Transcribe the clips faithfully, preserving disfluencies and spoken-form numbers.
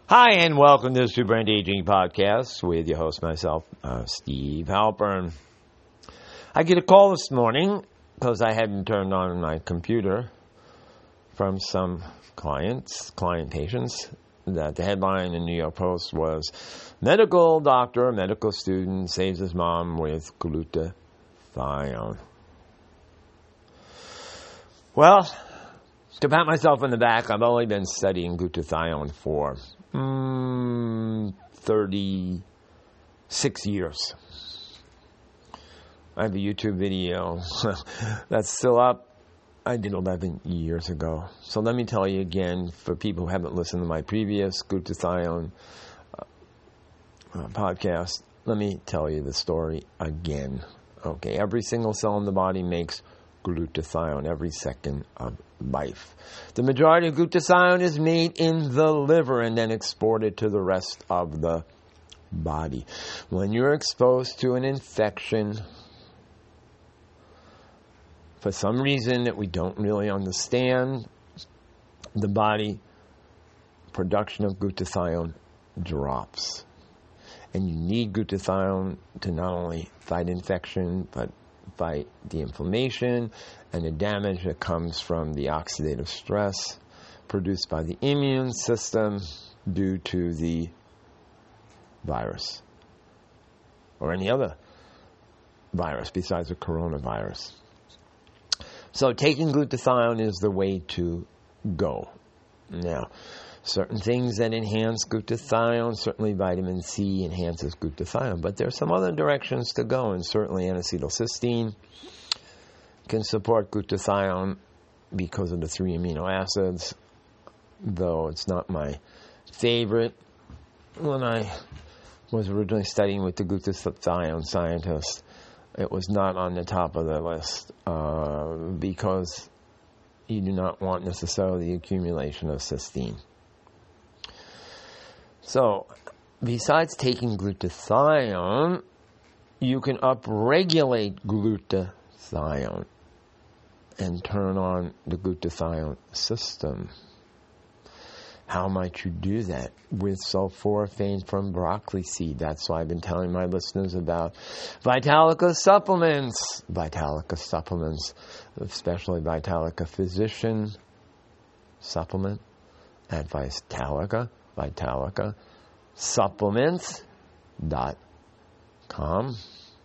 Hi, and welcome to the Super Anti-Aging Podcast with your host, myself, uh, Steve Halpern. I get a call this morning because I hadn't turned on my computer from some clients, client patients, that the headline in the New York Post was, medical doctor, medical student saves his mom with glutathione. Well, to pat myself on the back, I've only been studying glutathione for mm, thirty-six years. I have a YouTube video that's still up. I did eleven years ago. So let me tell you again, for people who haven't listened to my previous glutathione uh, uh, podcast, let me tell you the story again. Okay, every single cell in the body makes glutathione every second of life. The majority of glutathione is made in the liver and then exported to the rest of the body. When you're exposed to an infection, for some reason that we don't really understand, the body production of glutathione drops. And you need glutathione to not only fight infection, but fight the inflammation and the damage that comes from the oxidative stress produced by the immune system due to the virus or any other virus besides the coronavirus. So taking glutathione is the way to go. Now, certain things that enhance glutathione, certainly vitamin C enhances glutathione, but there are some other directions to go, and certainly N-acetylcysteine can support glutathione because of the three amino acids, though it's not my favorite. When I was originally studying with the glutathione scientists, it was not on the top of the list uh, because you do not want necessarily the accumulation of cysteine. So, besides taking glutathione, you can upregulate glutathione and turn on the glutathione system. How might you do that? With sulforaphane from broccoli seed. That's why I've been telling my listeners about Vitalica supplements. Vitalica supplements, especially Vitalica Physician supplement at Vitalica. Vitalica supplements dot com.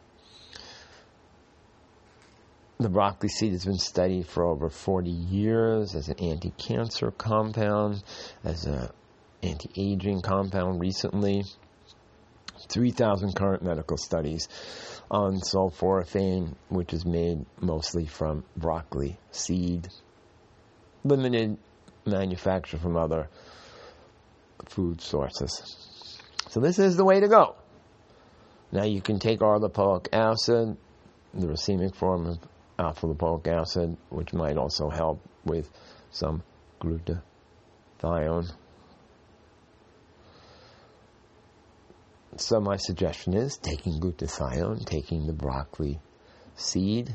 The broccoli seed has been studied for over forty years as an anti-cancer compound, as an anti-aging compound recently. three thousand current medical studies on sulforaphane, which is made mostly from broccoli seed. Limited manufacture from other food sources. So this is the way to go. Now you can take arlipoic acid, the racemic form of alpha-lipoic acid, which might also help with some glutathione. So my suggestion is taking glutathione, taking the broccoli seed.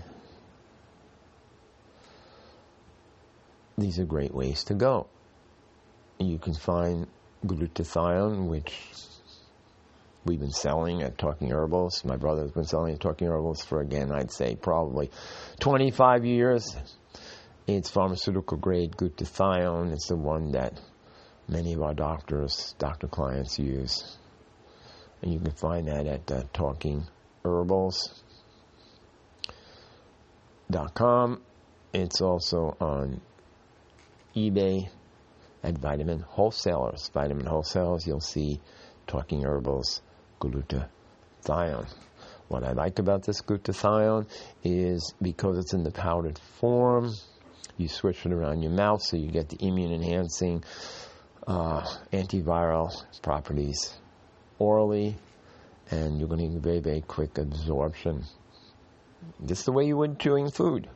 These are great ways to go. You can find glutathione, which we've been selling at Talking Herbals. My brother's been selling at Talking Herbals for, again, I'd say probably twenty-five years. It's pharmaceutical grade glutathione. It's the one that many of our doctors, doctor clients use. And you can find that at uh, talking herbals dot com. It's also on eBay at Vitamin Wholesalers. Vitamin Wholesalers, you'll see Talking Herbals glutathione. What I like about this glutathione is because it's in the powdered form, you switch it around your mouth so you get the immune-enhancing uh, antiviral properties orally, and you're going to get very, very quick absorption. Just the way you would chewing food.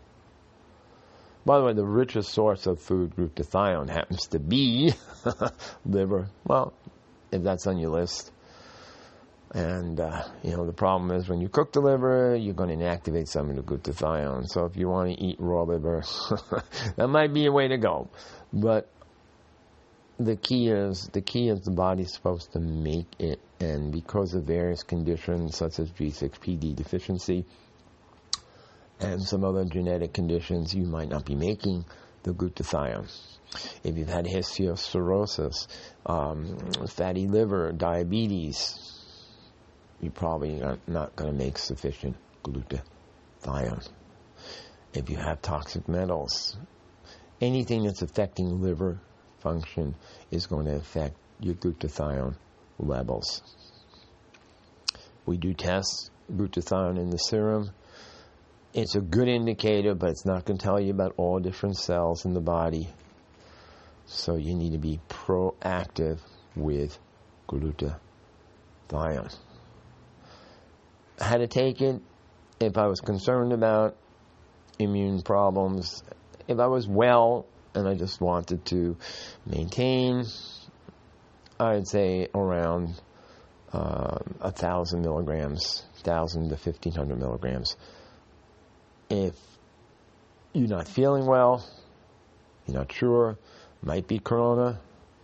By the way, the richest source of food glutathione happens to be liver. Well, if that's on your list. And, uh, you know, the problem is when you cook the liver, you're going to inactivate some of the glutathione. So if you want to eat raw liver, that might be a way to go. But the key is the key is the body's supposed to make it, and because of various conditions such as G six P D deficiency and some other genetic conditions, you might not be making the glutathione. If you've had histiocytosis, um, fatty liver, diabetes, you're probably not, not going to make sufficient glutathione. If you have toxic metals, anything that's affecting liver function is going to affect your glutathione levels. We do test glutathione in the serum. It's a good indicator, but it's not going to tell you about all different cells in the body. So you need to be proactive with glutathione. How to take it? If I was concerned about immune problems, if I was well and I just wanted to maintain, I'd say around uh, a thousand milligrams, thousand to fifteen hundred milligrams. If you're not feeling well, you're not sure, might be corona,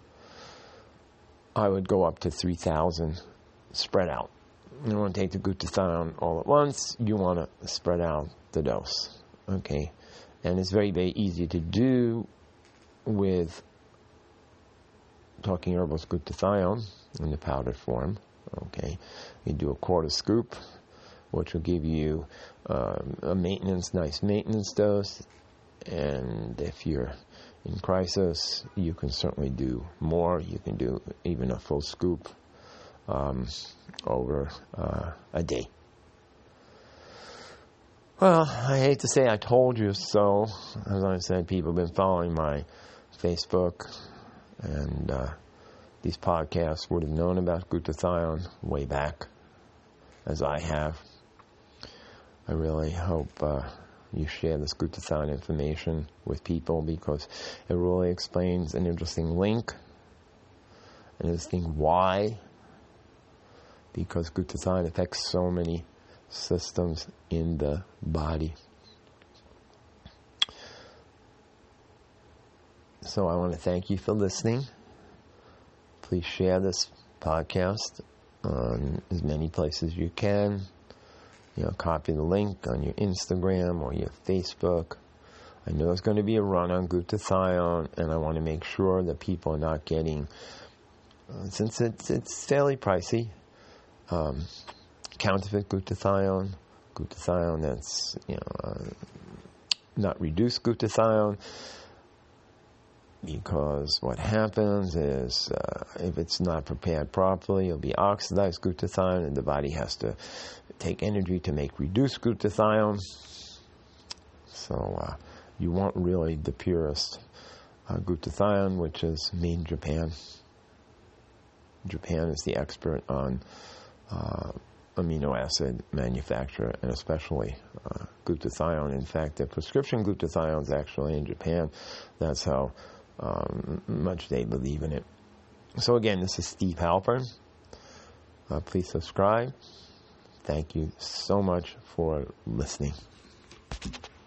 I would go up to three thousand spread out. You don't want to take the glutathione all at once. You want to spread out the dose. Okay? And it's very, very easy to do with Talking Herbal's glutathione in the powdered form. Okay? You do a quarter scoop, which will give you um, a maintenance, nice maintenance dose. And if you're in crisis, you can certainly do more. You can do even a full scoop um, over uh, a day. Well, I hate to say I told you so. As I said, people have been following my Facebook, and uh, these podcasts would have known about glutathione way back, as I have. I really hope uh, you share this glutathione information with people, because it really explains an interesting link, an interesting why, because glutathione affects so many systems in the body. So I want to thank you for listening. Please share this podcast on as many places you can. You know, copy the link on your Instagram or your Facebook. I know there's going to be a run on glutathione, and I want to make sure that people are not getting, uh, since it's it's fairly pricey, um, counterfeit glutathione, glutathione that's you know uh, not reduced glutathione. Because what happens is, uh, if it's not prepared properly, it'll be oxidized glutathione, and the body has to take energy to make reduced glutathione. So uh, you want really the purest uh, glutathione, which is made in Japan. Japan is the expert on uh, amino acid manufacture, and especially uh, glutathione. In fact, the prescription glutathione is actually in Japan. That's how Um, much they believe in it. So again, this is Steve Halpern. Uh, please subscribe. Thank you so much for listening.